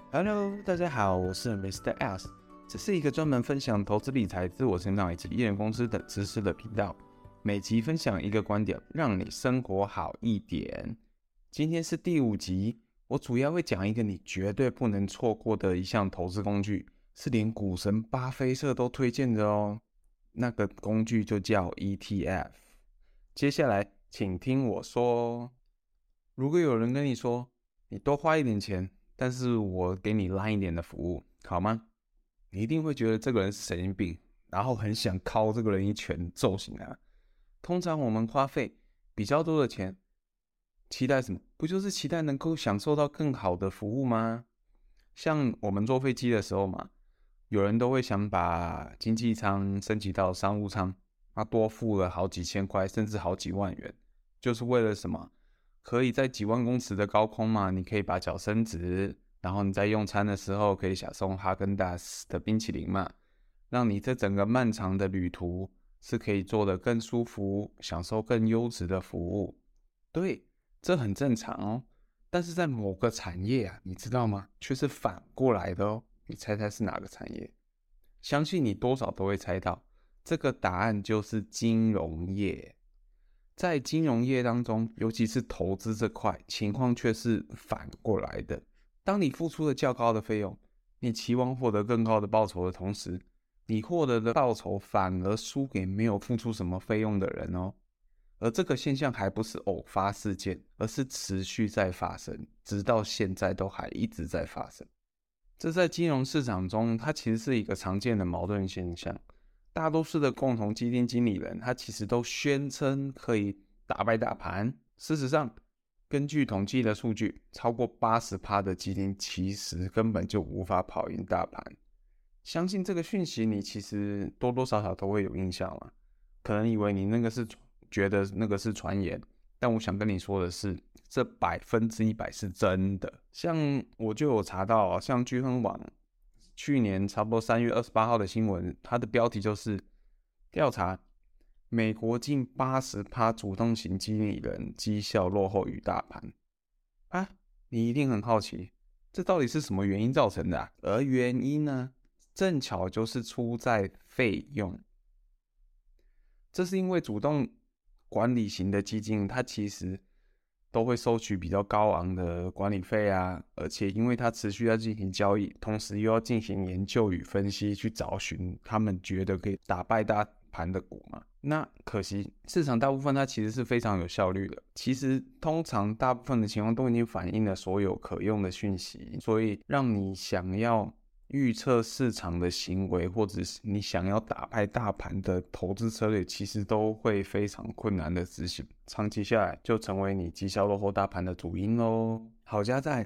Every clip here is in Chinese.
Hello， 大家好，我是 Mr. S， 這是一個專門分享投資理財、自我成長以及藝人公司等知識的頻道。每集分享一個觀點，讓你生活好一點。今天是第5集，我主要會講一個你絕對不能錯過的一項投資工具，是連股神巴菲特都推薦的哦。那個工具就叫 ETF。接下來，請聽我說。如果有人跟你說，你多花一點錢，但是我給你爛一點的服務，好嗎？你一定會覺得這個人是神經病，然後很想敲這個人一拳揍醒他。通常我們花費比較多的錢，期待什麼？不就是期待能夠享受到更好的服務嗎？像我們坐飛機的時候嘛，有人都會想把經濟艙升級到商務艙，他多付了好幾千塊，甚至好幾萬元，就是為了什麼？可以在幾萬公尺的高空嘛，你可以把腳伸直，然後你在用餐的時候可以享受哈根達斯的冰淇淋嘛，讓你這整個漫長的旅途是可以做得更舒服，享受更優質的服務。對，這很正常哦。但是在某個產業啊，你知道嗎？卻是反過來的哦。你猜猜是哪個產業？相信你多少都會猜到，這個答案就是金融業。在金融業當中，尤其是投資這塊，情況卻是反過來的。當你付出了較高的費用，你期望獲得更高的報酬的同時，你獲得的報酬反而輸給沒有付出什麼費用的人哦。而這個現象還不是偶發事件，而是持續在發生，直到現在都還一直在發生。這在金融市場中，它其實是一個常見的矛盾現象。大多數的共同基金經理人，他其實都宣稱可以打敗大盤。事實上，根據統計的數據，超過 80% 的基金其實根本就無法跑贏大盤。相信這個訊息，你其實多多少少都會有印象嘛。可能以為你覺得那個是傳言，但我想跟你說的是，這100%是真的。像我就有查到，像鉅亨網去年差不多3月28號的新聞，它的標題就是調查美國近 80% 主動型經理人績效落後於大盤啊！你一定很好奇，這到底是什麼原因造成的啊？而原因呢，正巧就是出在費用。這是因為主動管理型的基金，它其實都會收取比較高昂的管理費啊，而且因為它持續要進行交易，同時又要進行研究與分析，去找尋他們覺得可以打敗大盤的股嘛。那可惜市場大部分它其實是非常有效率的，其實通常大部分的情況都已經反映了所有可用的訊息，所以讓你想要預測市場的行為，或者是你想要打敗大盤的投資策略，其實都會非常困難的執行，長期下來就成為你績效落後大盤的主因咯。好家在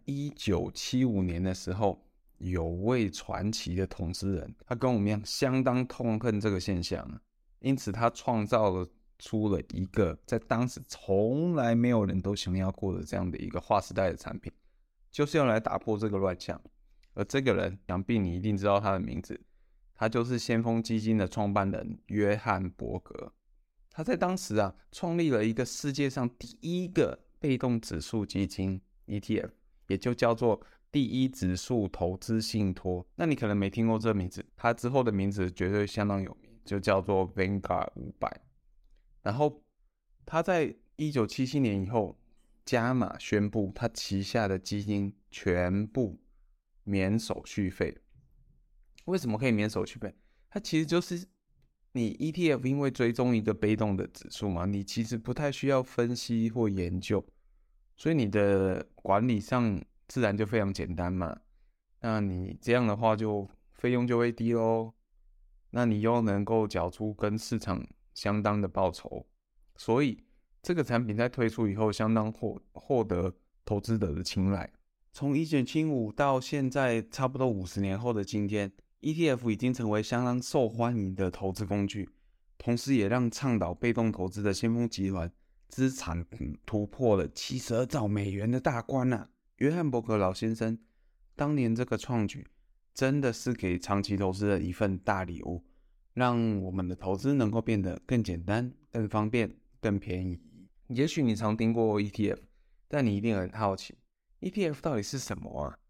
1975年的時候，有位傳奇的投資人，他跟我們一樣相當痛恨這個現象，因此他創造出了一個在當時從來沒有人都想要過的這樣的一個劃時代的產品，就是要來打破這個亂象。而這個人，想必你一定知道他的名字，他就是先鋒基金的創辦人約翰伯格。他在當時創立了一個世界上第一個被動指數基金 ETF， 也就叫做第一指數投資信託。那你可能沒聽過這個名字，他之後的名字絕對相當有名，就叫做 Vanguard 500。然後他在1977年以後加碼宣布，他旗下的基金全部免手續費。為什麼可以免手續費？它其實就是你 ETF 因為追蹤一個被動的指數嘛，你其實不太需要分析或研究，所以你的管理上自然就非常簡單嘛。那你這樣的話就費用就會低咯，那你又能夠繳出跟市場相當的報酬，所以這個產品在推出以後相當獲得投資者的青睞。從1975到現在差不多50年後的今天， ETF 已經成為相當受歡迎的投資工具，同時也讓倡導被動投資的先鋒集團資產突破了72兆美元的大關啊。約翰伯格老先生當年這個創舉真的是給長期投資人一份大禮物，讓我們的投資能夠變得更簡單、更方便、更便宜。也許你常聽過 ETF， 但你一定很好奇，ETF 到底是什麼啊？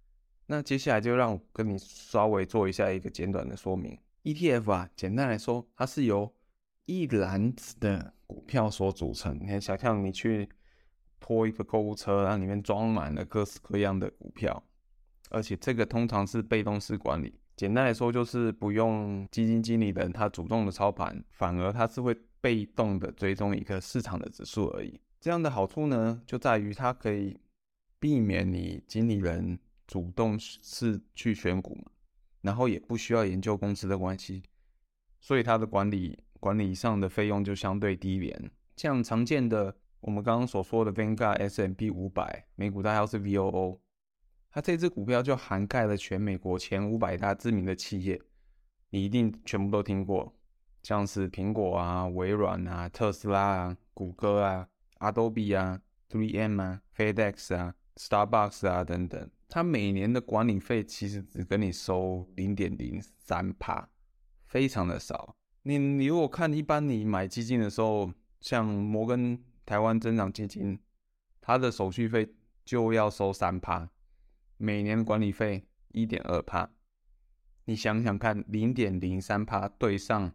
那接下來就讓我跟你稍微做一下一個簡短的說明。ETF 啊，簡單來說，它是由一籃子的股票所組成。你看，想象你去拖一個購物車，然後裡面裝滿了各式各樣的股票，而且這個通常是被動式管理。簡單來說，就是不用基金經理人他主動的操盤，反而他是會被動的追蹤一個市場的指數而已。這樣的好處呢，就在於它可以避免你經理人主動是去選股嘛，然後也不需要研究公司的關係，所以它的管理上的費用就相對低廉。像常見的我們剛剛所說的 Vanguard S&P 500美股代號是 VOO， 它這支股票就涵蓋了全美國前500大知名的企業，你一定全部都聽過，像是蘋果啊、微軟啊、特斯拉啊、谷歌啊、Adobe 啊、3M 啊、FedEx 啊、Starbucks 啊等等。它每年的管理費其實只跟你收 0.03%， 非常的少。你如果看一般你買基金的時候，像摩根台灣增長基金，它的手續費就要收 3%， 每年的管理費 1.2%。你想想看 0.03% 對上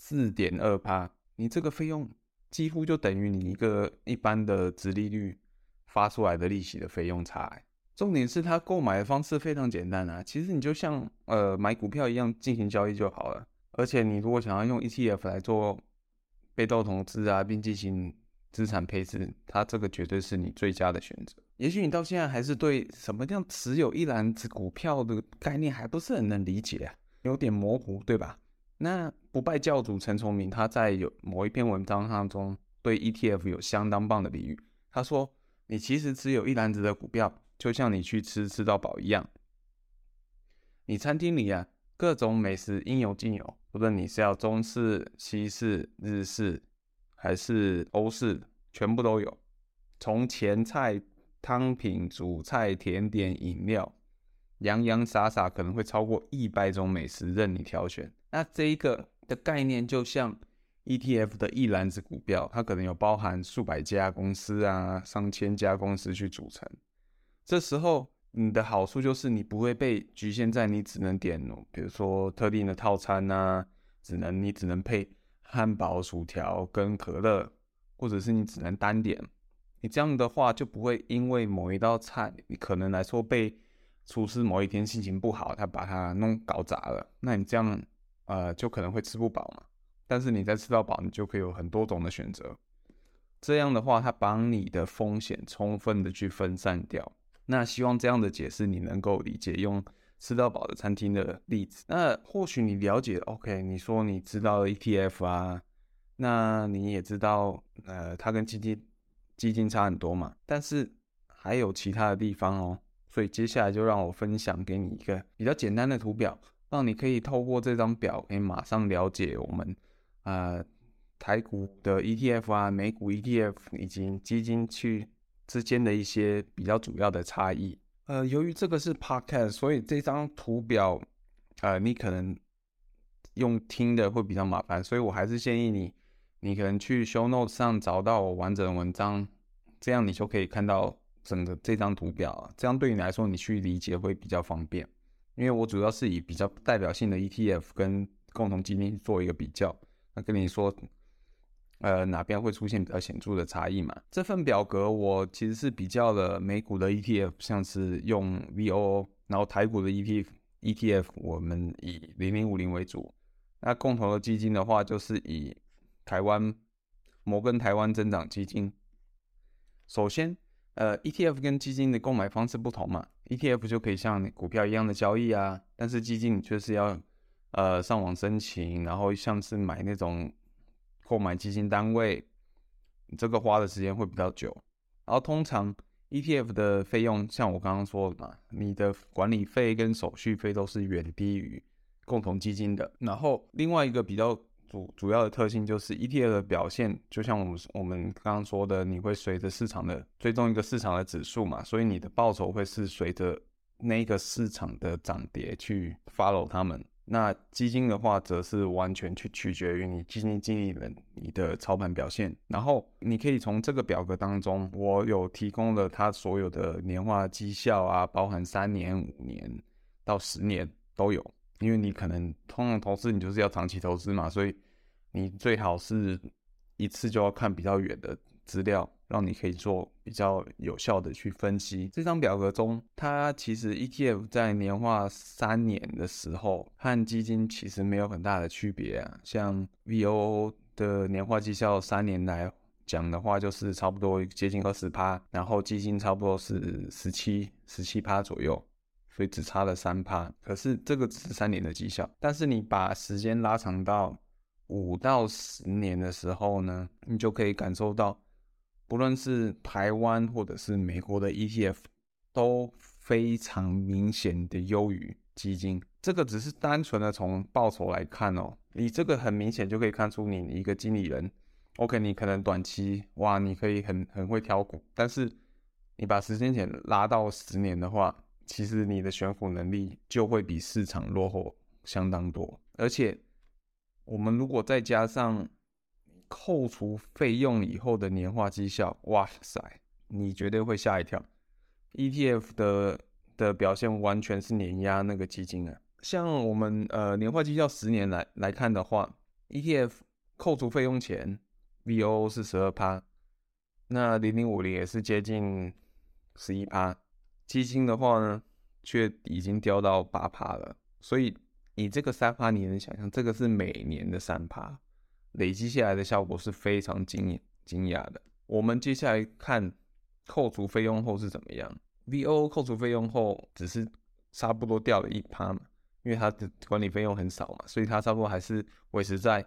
4.2%， 你這個費用幾乎就等於你一個一般的殖利率發出來的利息的費用差。重點是它購買的方式非常簡單啊，其實你就像買股票一樣進行交易就好了。而且你如果想要用 ETF 來做被動投資啊，並進行資產配置，它這個絕對是你最佳的選擇。也許你到現在還是對什麼樣持有一籃子股票的概念還不是很能理解啊，有點模糊，對吧？那不敗教主陳崇明他在某一篇文章當中對 ETF 有相當棒的比喻，他說你其實持有一籃子的股票，就像你去吃到飽一樣，你餐廳裡啊各種美食應有盡有，不論你是要中式、西式、日式還是歐式，全部都有。從前菜、湯品、主菜、甜點、飲料，洋洋灑灑可能會超過100種美食任你挑選。那這一個的概念就像 ETF 的一籃子股票，它可能有包含數百家公司啊、上千家公司去組成。這時候你的好處就是你不會被局限在你只能點比如說特定的套餐啊，你只能配漢堡、薯條跟可樂，或者是你只能單點。你這樣的話就不會因為某一道菜你可能來說被廚師某一天心情不好，他把它搞砸了，那你這樣就可能會吃不飽嘛。但是你在吃到飽，你就可以有很多種的選擇。這樣的話，它把你的風險充分的去分散掉。那希望這樣的解釋你能夠理解，用吃到飽的餐廳的例子。那或許你了解 ，OK， 你說你知道 ETF 啊，那你也知道，它跟基金差很多嘛，但是還有其他的地方哦。所以接下來就讓我分享給你一個比較簡單的圖表，讓你可以透過這張表，可以馬上了解我們台股的 ETF 啊、美股 ETF 以及基金之間的一些比較主要的差異。由於這個是 podcast， 所以這張圖表你可能用聽的會比較麻煩，所以我還是建議你可能去 show notes 上找到我完整的文章，這樣你就可以看到整個這張圖表，這樣對你來說你去理解會比較方便。因為我主要是以比較代表性的 ETF 跟共同基金做一個比較，那跟你說哪邊會出現比較顯著的差異嘛。這份表格我其實是比較了美股的 ETF， 像是用 VOO， 然後台股的 ETF 我們以0050為主。那共同的基金的話，就是以摩根台灣增長基金。首先ETF 跟基金的購買方式不同嘛， ETF 就可以像股票一樣的交易啊，但是基金你就是要上網申請，然後像是買那種購買基金單位，這個花的時間會比較久。然後通常 ETF 的費用像我刚剛說的嘛，你的管理費跟手續費都是遠低於共同基金的。然後另外一個比較主要的特性就是 ETF 的表現，就像我們剛剛說的，你會隨着市場的追蹤一個市场的指數嘛，所以你的報酬會是隨着那個市場的漲跌去 follow 他們。 那基金的話，則是完全取決於你基金經理人你的操盤表現。然後你可以從這個表格當中，我有提供了他所有的年化績效啊，包含3年、5年到10年都有。因為你可能通常投資你就是要長期投資嘛，所以你最好是一次就要看比較遠的資料，讓你可以做比較有效的去分析。這張表格中，它其實 ETF 在年化3年的時候和基金其實沒有很大的區別啊。像 VOO 的年化績效3年來講的話，就是差不多接近20%，然後基金差不多是17% 左右。所以只差了3%，可是這個只是3年的績效。但是你把時間拉長到5到10年的時候呢，你就可以感受到，不論是台灣或者是美國的 ETF， 都非常明顯的優於基金。這個只是單純的從報酬來看哦，你這個很明顯就可以看出你一個經理人 ，OK， 你可能短期哇，你可以很會挑股，但是你把時間點拉到10年的話，其實你的選股能力就會比市場落後相當多，而且我們如果再加上扣除費用以後的年化績效，哇塞，你絕對會嚇一跳。ETF 的表現完全是碾壓那個基金啊。像我們年化績效10年來看的話 ，ETF 扣除費用前 VOO 是12%，那0050也是接近11%。基金的話呢，卻已經掉到8%了。所以你這個3%，你能想象，這個是每年的3%，累積下來的效果是非常驚訝的。我們接下來看扣除費用後是怎麼樣。VOO 扣除費用後只是差不多掉了1%嘛，因為它的管理費用很少嘛，所以它差不多還是維持在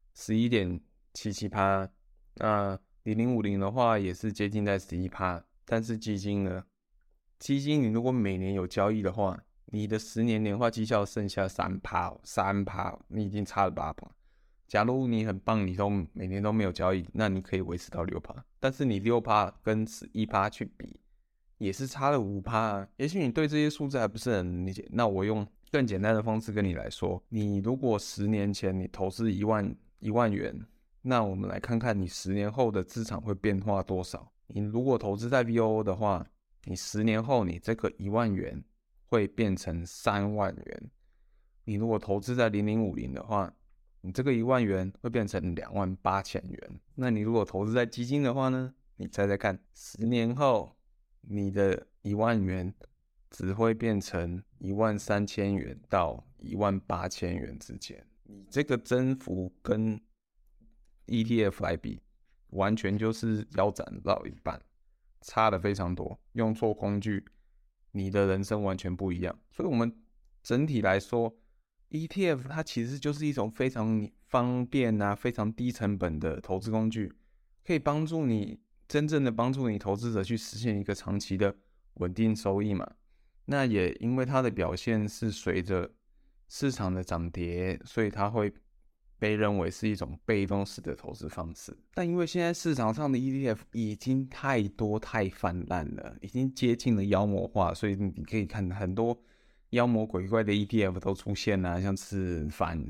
11.77%。那0050的話也是接近在11%，但是基金呢？基金你如果每年有交易的話，你的10年年化績效剩下3%，你已經差了8%。假如你很棒，你都每年都沒有交易，那你可以維持到6%。但是你6%跟11%去比，也是差了5%啊。也許你對這些數字還不是很理解，那我用更簡單的方式跟你來說，你如果10年前你投資1萬元，那我們來看看你10年後的資產會變化多少。你如果投資在 VOO 的話，你10年後，你這個1萬元會變成3萬元。你如果投資在0050的話，你這個1萬元會變成28000元。那你如果投資在基金的話呢？你猜猜看，10年後你的1萬元只會變成13000元到18000元之間。你這個增幅跟 ETF 來比，完全就是腰斬到一半。差的非常多，用錯工具，你的人生完全不一樣。所以我們整體來說 ，ETF 它其實就是一種非常方便啊、非常低成本的投資工具，可以幫助你真正的幫助你投資者去實現一個長期的穩定收益嘛。那也因為它的表現是隨着市場的漲跌，所以它會被認為是一種被動式的投資方式，但因為現在市場上的 ETF 已經太多太泛濫了，已經接近了妖魔化，所以你可以看很多妖魔鬼怪的 ETF 都出現了，像是反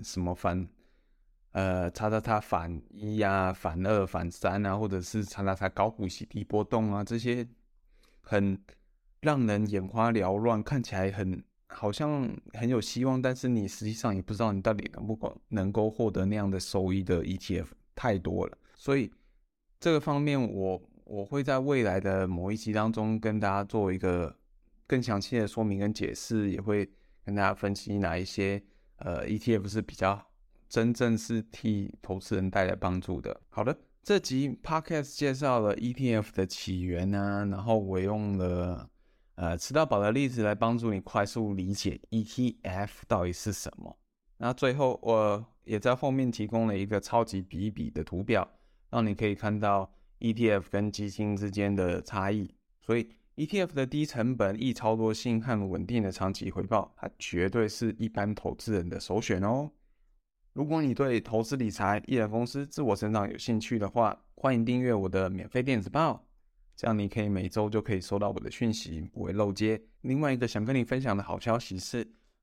反1啊、反2、反3啊，或者是高股息低波動啊，這些很讓人眼花繚亂，看起來好像很有希望，但是你實際上也不知道你到底能夠獲得那樣的收益的 ETF 太多了，所以這個方面我會在未來的某一集當中跟大家做一個更詳細的說明跟解釋，也會跟大家分析哪一些ETF 是比較真正是替投資人帶來幫助的。好的，這集 Podcast 介紹了 ETF 的起源啊，然後我用了吃到飽的例子來幫助你快速理解 ETF 到底是什麼。那最後我也在後面提供了一個超級比一比的圖表，讓你可以看到 ETF 跟基金之間的差異。所以 ETF 的低成本、易操作性和穩定的長期回報，它絕對是一般投資人的首選哦。如果你對投資理財、藝人公司、自我成長有興趣的話，歡迎訂閱我的免費電子報。這樣你可以每周就可以收到我的訊息，不會漏接。另外一個想跟你分享的好消息是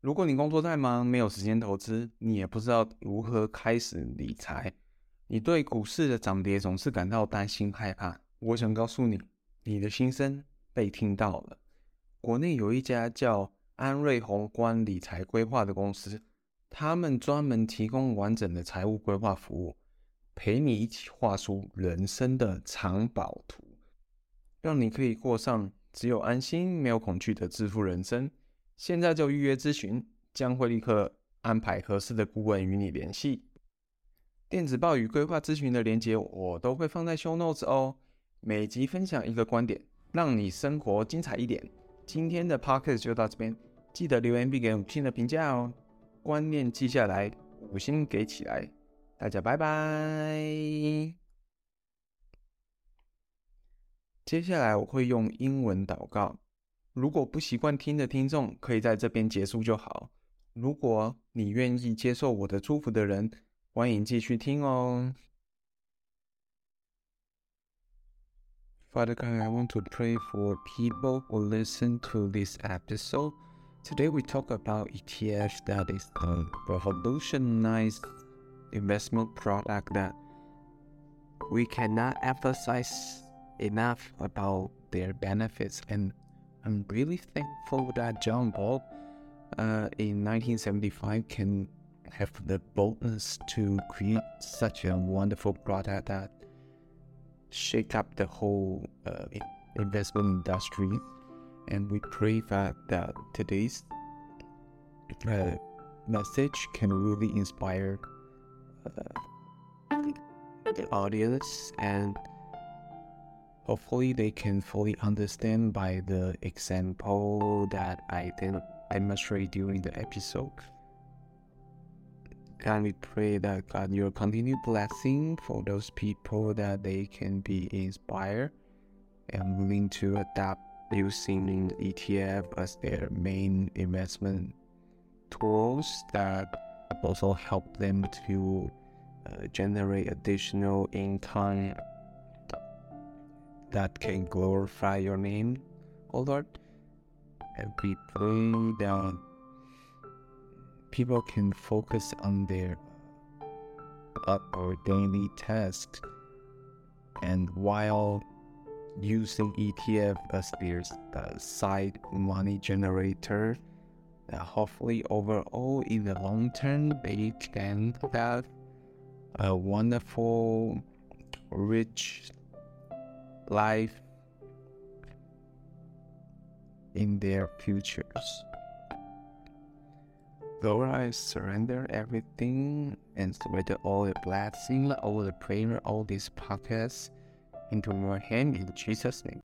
如果你工作太忙，沒有時間投資，你也不知道如何開始理財，你對股市的漲跌總是感到擔心害怕，我想告訴你，你的心聲被聽到了。國內有一家叫安瑞宏觀理財規劃的公司，他們專門提供完整的財務規劃服務，陪你一起畫出人生的藏寶圖，讓你可以過上只有安心沒有恐懼的致富人生。現在就預約諮詢，將會立刻安排合適的顧問與你聯繫。電子報與規劃諮詢的連結我都會放在 show notes 哦。每集分享一個觀點，讓你生活精彩一點。今天的 podcast 就到這邊，記得留言並給5星的評價哦。觀念記下來，5星給起來。大家拜拜。接下來我會用英文禱告。如果不習慣聽的聽眾，可以在這邊結束就好。如果你願意接受我的祝福的人，歡迎繼續聽哦。Father God, I want to pray for people who listen to this episode. Today we talk about ETF, that is a revolutionized investment product that we cannot emphasize enough about their benefits, and I'm really thankful that John Paul in 1975 can have the boldness to create such a wonderful product that shake up the whole investment industry. And we pray that today's message can really inspire the audience, and hopefully they can fully understand by the example that I demonstrate during the episode. And we pray that God, your continued blessing for those people, that they can be inspired and willing to adapt using ETF as their main investment tools, that also help them to generate additional income that can glorify your name, O Lord. And we pray that people can focus on their or daily tasks, and while using ETF as their side money generator, hopefully overall in the long term they can have a wonderful, rich life in their futures. Lord, I surrender everything and surrender all the blessing, all the prayer, all these podcasts into your hand in Jesus' name.